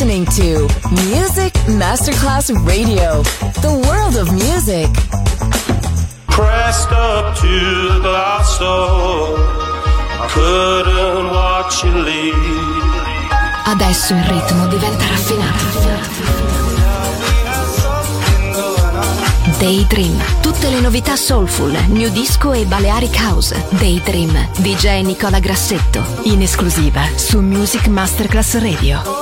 listening to Music Masterclass Radio, the world of music. Pressed up to the glass door, I couldn't watch you leave. Adesso il ritmo diventa raffinato. Daydream, tutte le novità soulful, new disco e Balearic House. Daydream, DJ Nicola Grassetto, in esclusiva su Music Masterclass Radio.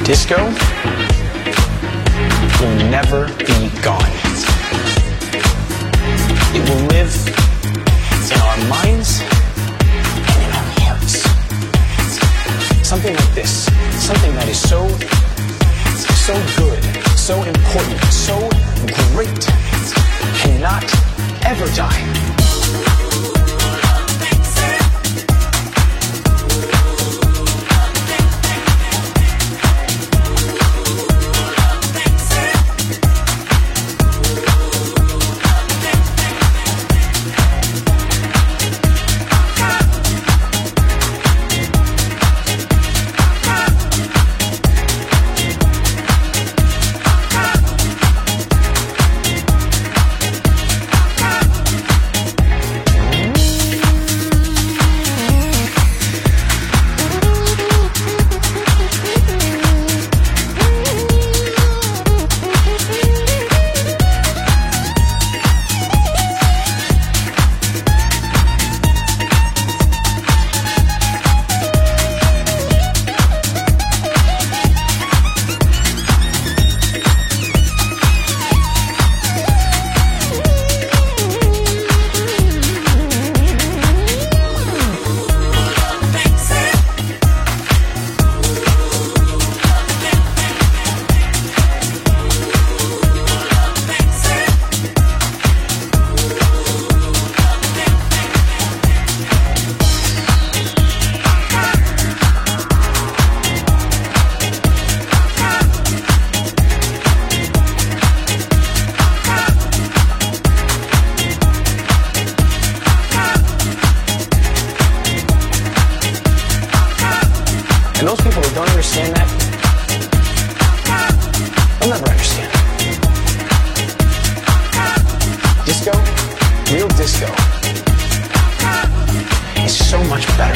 Disco will never be gone. It will live in our minds and in our hearts. Something like this, something that is so good, so important, so great, cannot ever die. And those people who don't understand that, they'll never understand. Disco, real disco, is so much better.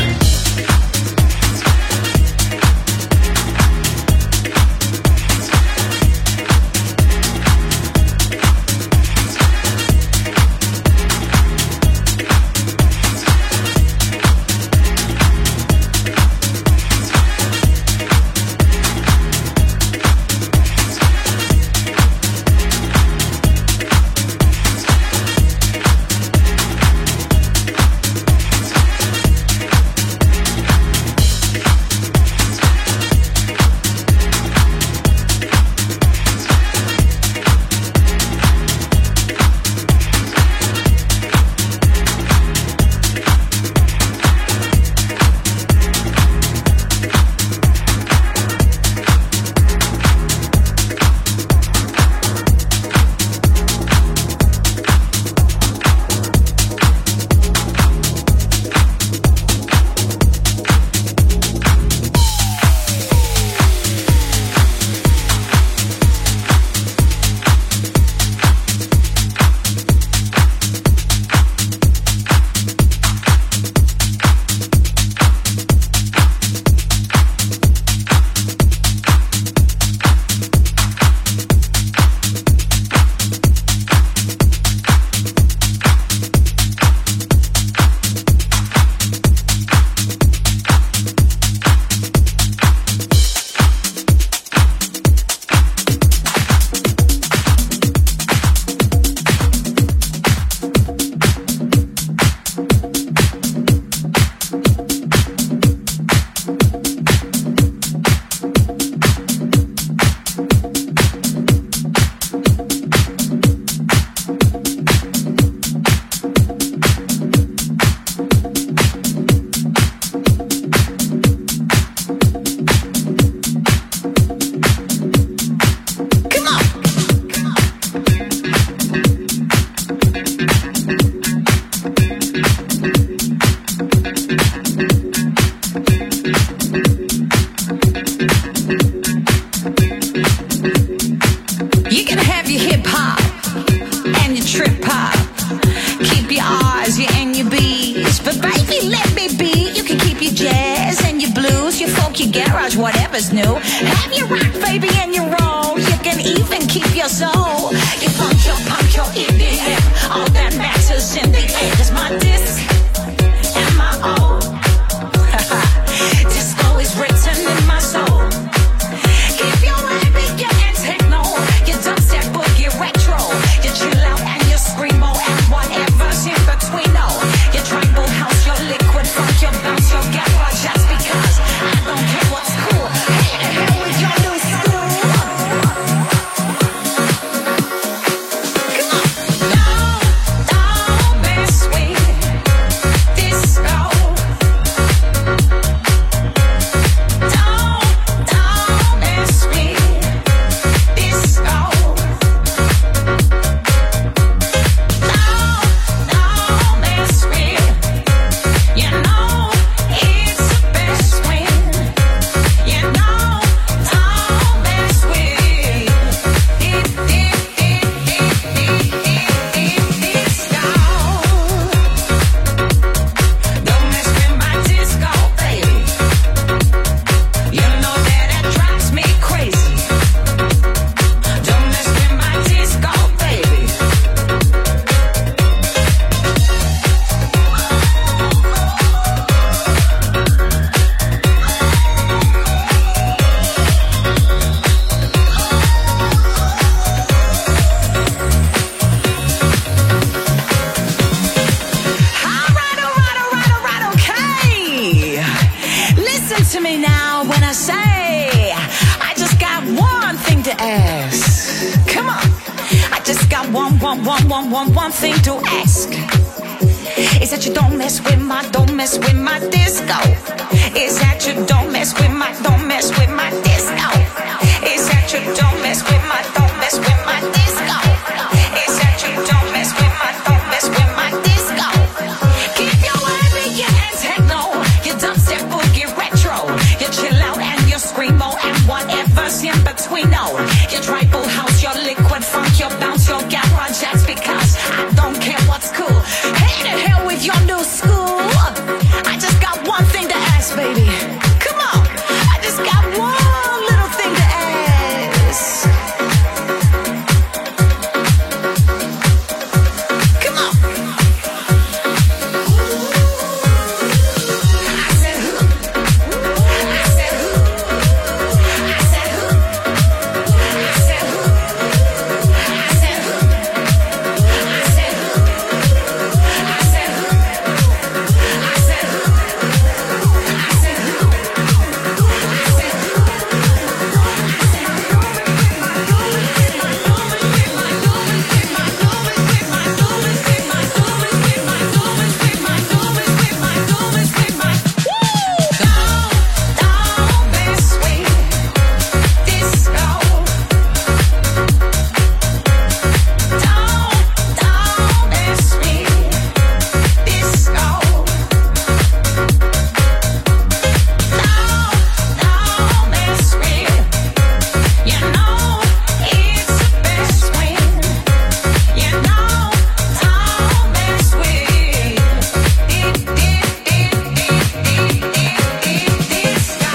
Whatever's new, have your rock, baby, and your roll. You can even keep your soul. You punch your EDM. All that matters in the end is my disc and my own. Disco is written in my soul. one thing to ask. Is that you don't mess with my disco. Is that you don't mess with my disco. Is that you don't mess with my disco. Is that you don't mess with my disco. Keep your ambient and techno, your dubstep boogie retro, your chill out and your screamo and whatever's in between. No, your tribal house, your liquid funk, your bounce, your garage acts, because I don't care what's cool. Hey to hell with your new school. I just got one thing to ask, baby. Come on, I just got one little thing to ask. Come on. I said who? I said who? I said who? I said who? I said who? I said who? I said who? I said who? I said who? Don't mess with disco. Don't mess with disco. Don't mess with. You know it's the best when. You know, don't mess with disco.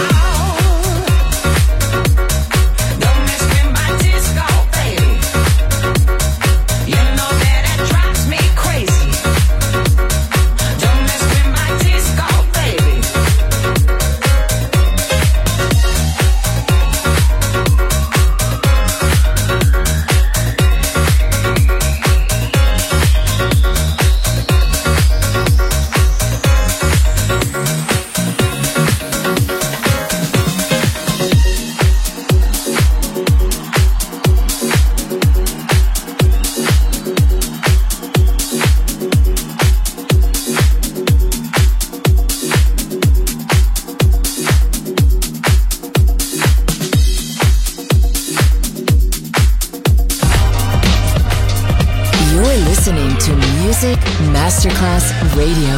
Don't mess with my disco, baby. You know that it drives me crazy. Don't mess with my disco, baby. You're listening to Music Masterclass Radio.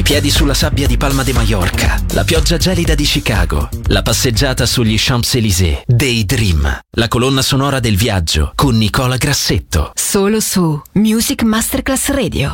piedi sulla sabbia di Palma de Mallorca, la pioggia gelida di Chicago, la passeggiata sugli Champs-Élysées. Daydream, la colonna sonora del viaggio con Nicola Grassetto. Solo su Music Masterclass Radio.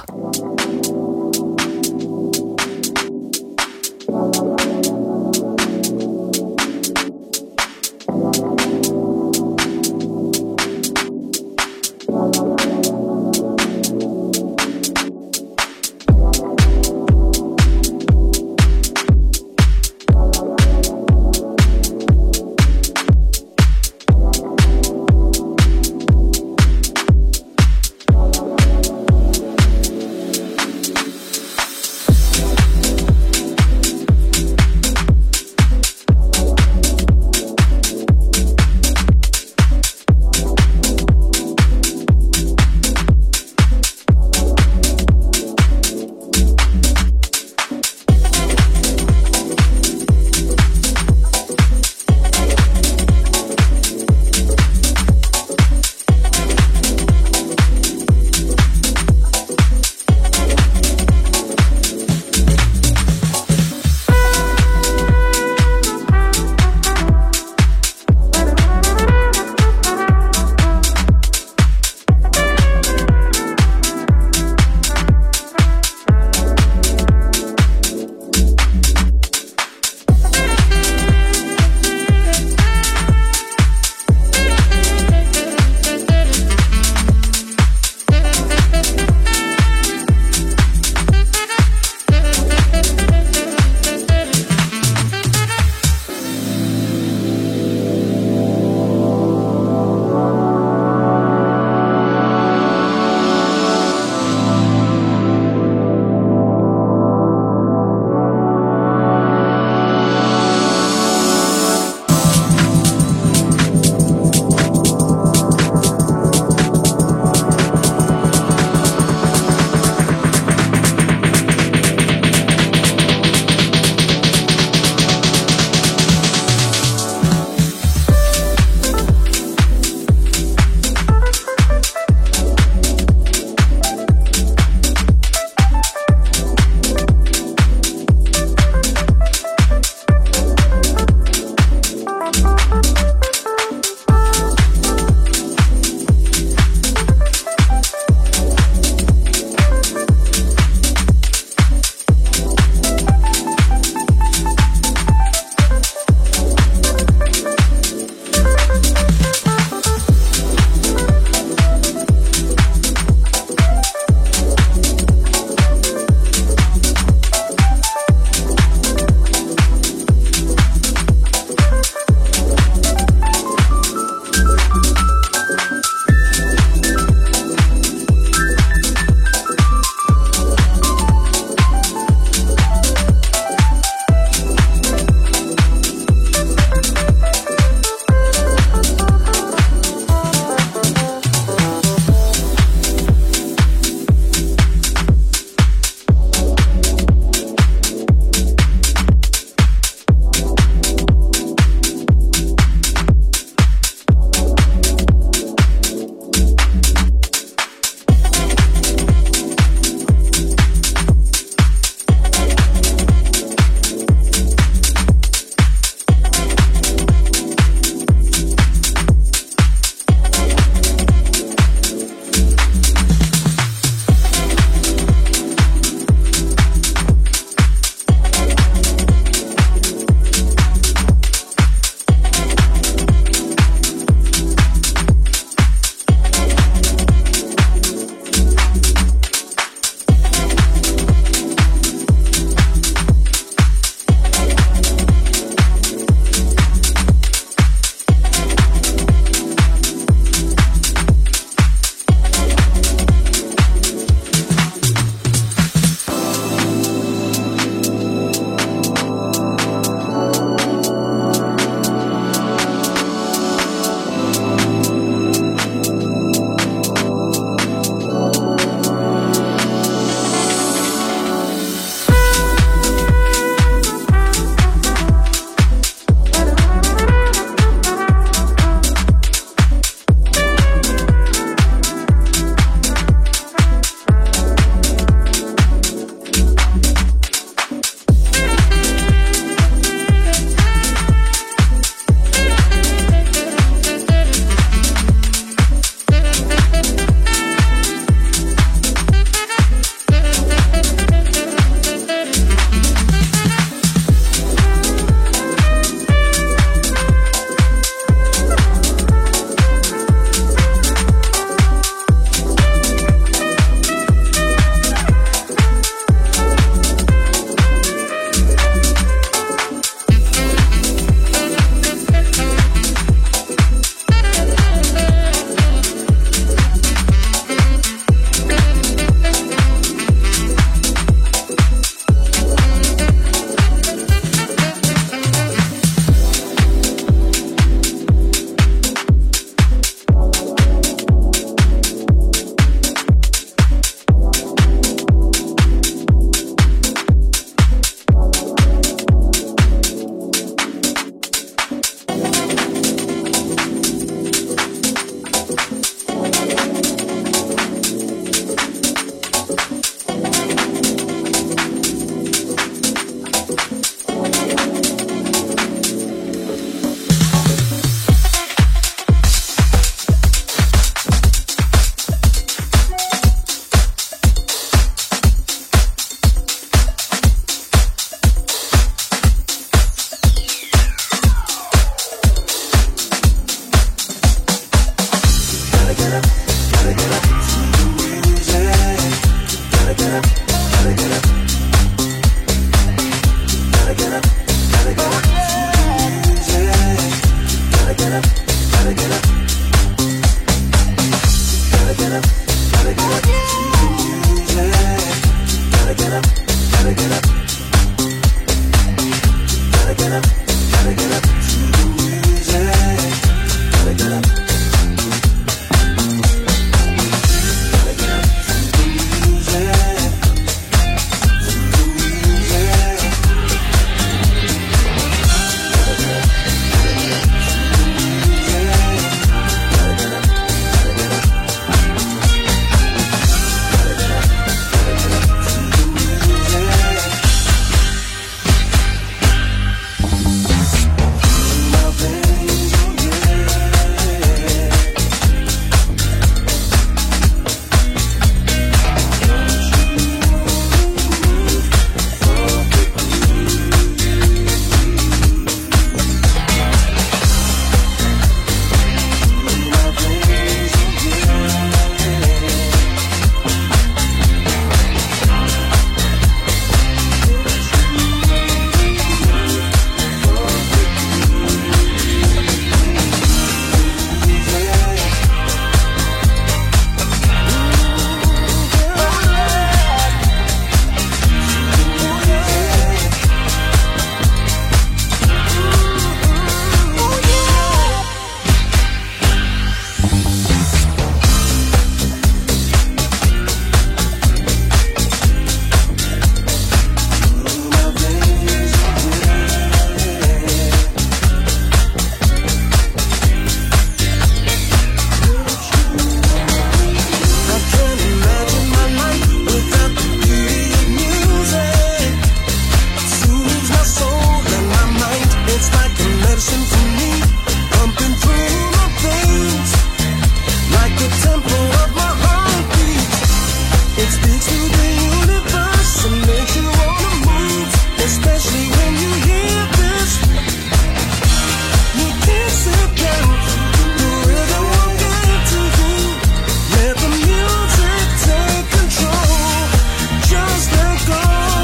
It's like a medicine for me, pumping through my veins, like the tempo of my heartbeat. It speaks to the universe and makes you wanna move, especially when you hear this. You can't sit down, the rhythm won't get to you. Let the music take control, just let go.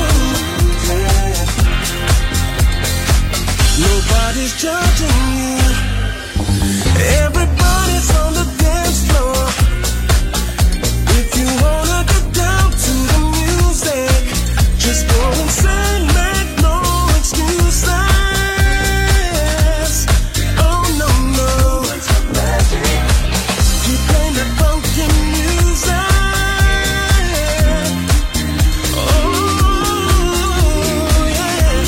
Nobody's judging you, everybody's on the dance floor. If you wanna get down to the music, just go and sing, make no excuses. Oh no, no, keep playing the funky music. Oh yeah,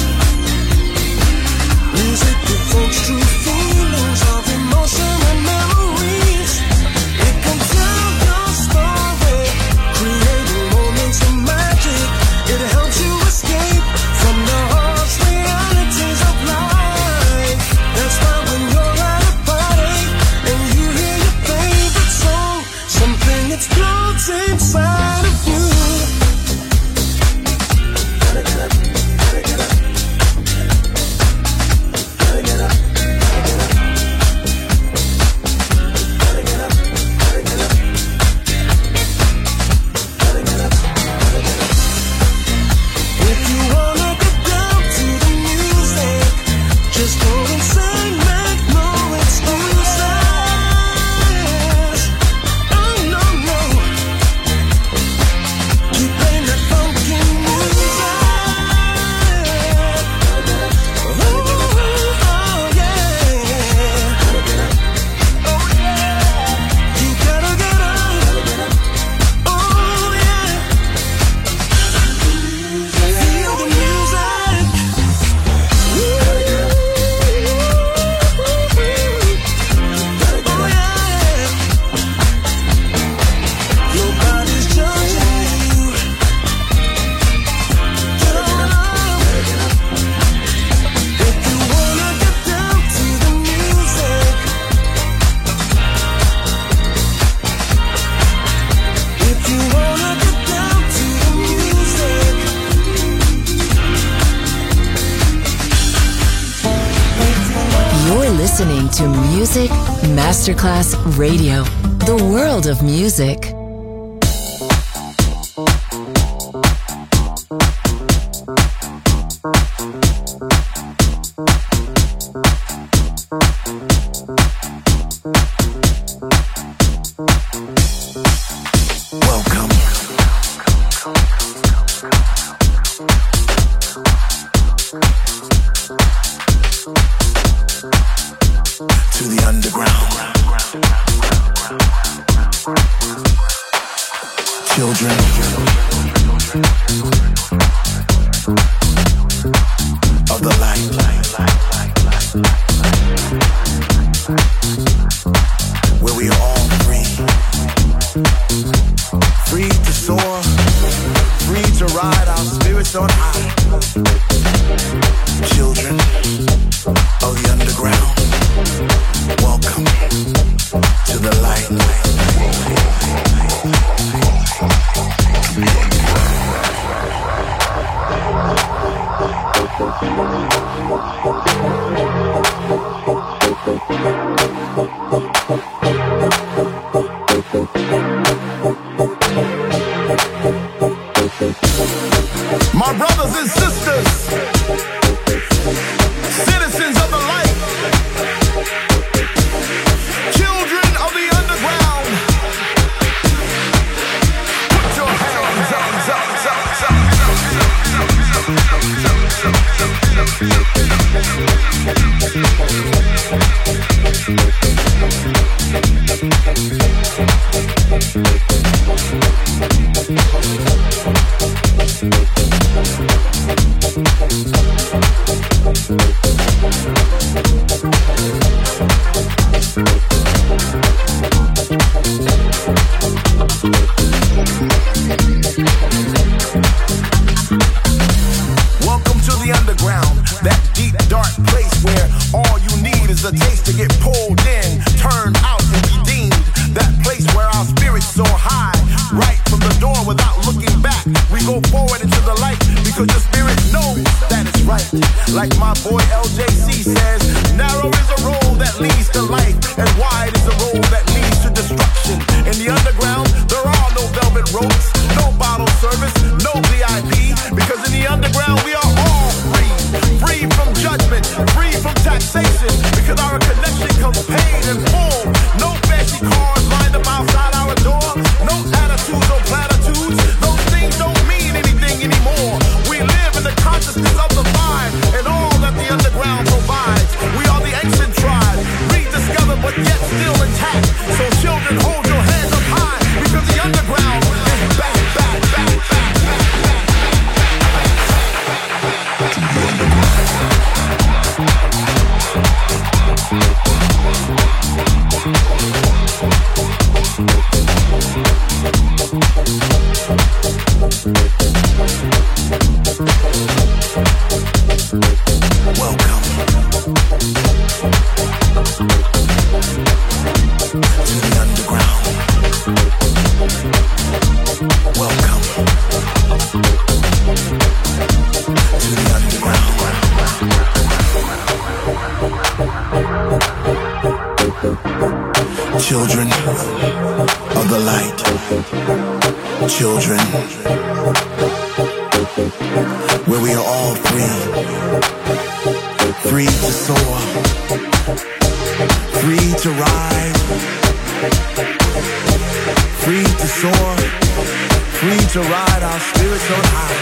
music evokes true feelings of emotion and memories. It can tell your story, creating moments of magic. It helps you escape from the harsh realities of life. That's why when you're at a party and you hear your favorite song, something explodes inside of you. Gotta get up, gotta get up, gotta get up, gotta get up, gotta get up, gotta get up, gotta get up, gotta get up. If you wanna get down to the music, just go and sing, make no excuses. Oh no, no, keep playing that funky music. Oh yeah, oh yeah, you gotta get up. Oh yeah, feel the music. Oh yeah, nobody's judging you. Get on up. If you wanna get down to the music, if you wanna get down to the music, You're listening to Music Masterclass Radio, the world of music. welcome. To the underground. is a taste to get pulled in, turned out and redeemed. That place where our spirits soar high, right from the door without looking back. We go forward into the light because the spirit knows that it's right. Like my boy LJC says, narrow is a road that leads to life, and wide is a road that leads to destruction. In the underground, there are no velvet ropes, no bottle service, no VIP, because in the underground we are all free. Free from judgment, free from taxation, because our connection comes paid in full. No fancy cars lined up outside our door, no attitudes or platitudes. Those things don't mean anything anymore. We live in the consciousness of the vibe and all that the underground provides. We are the ancient tribe, rediscovered but yet still intact. So children, hold your hands up high, because the underground is back, back, back, back, back, back. Children of the light, children, where we are all free, free to soar, free to rise, free to soar, free to ride our spirits on high.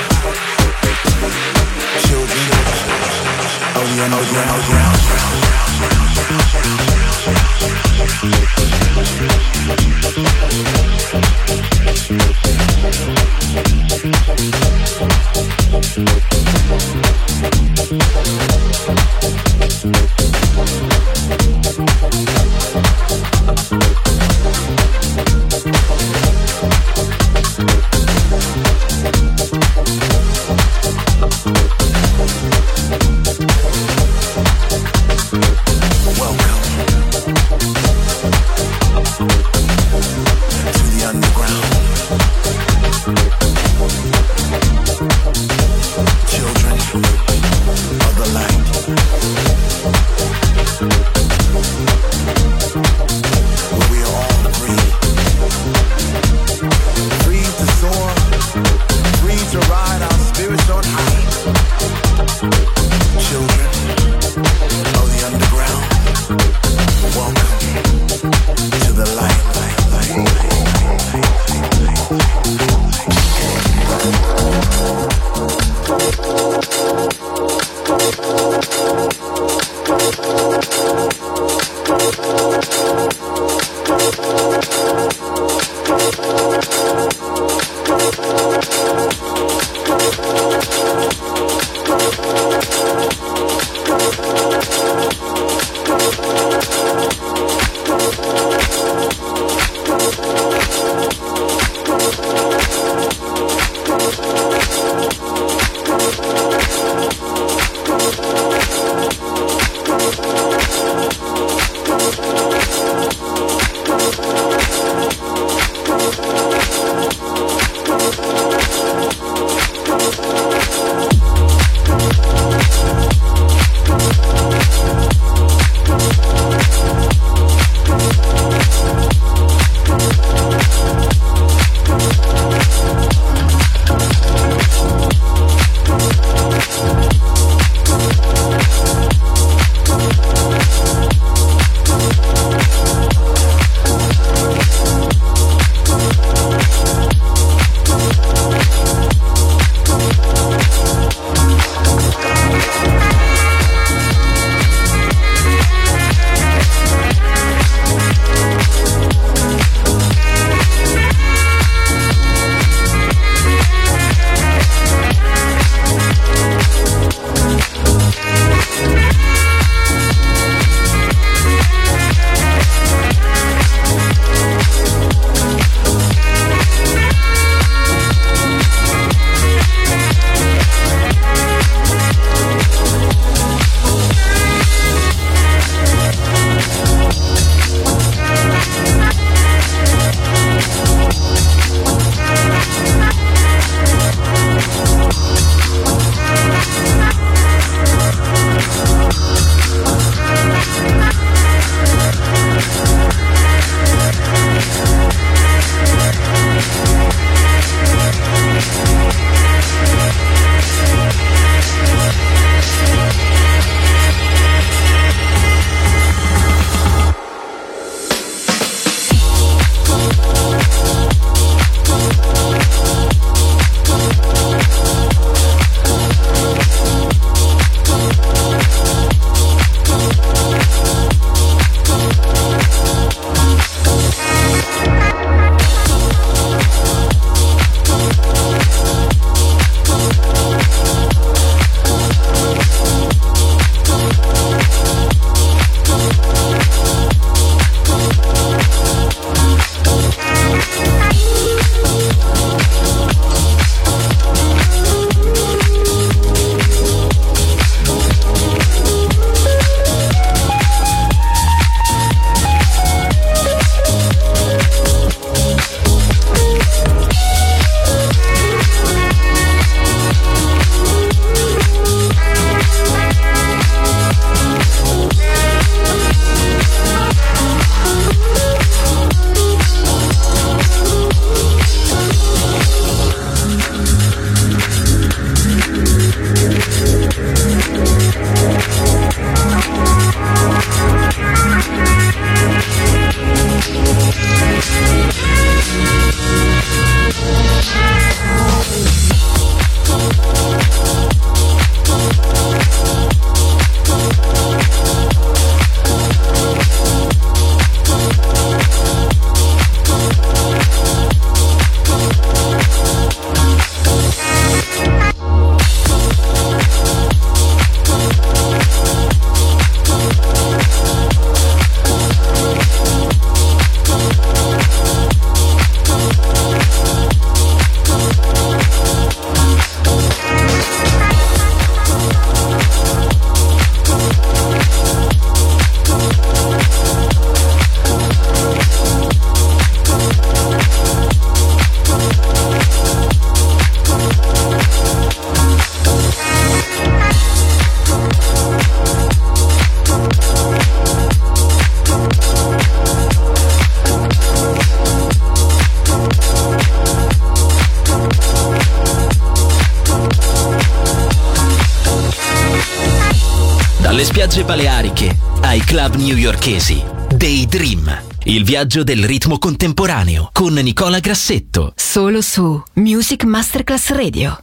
Children of the underground. Children of the light. Dalle spiagge baleariche ai club newyorkesi. Daydream, il viaggio del ritmo contemporaneo con Nicola Grassetto. Solo su Music Masterclass Radio.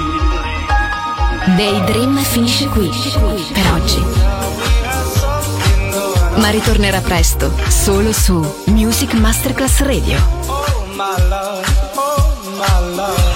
Daydream finisce qui per oggi, ma ritornerà presto solo su Music Masterclass Radio.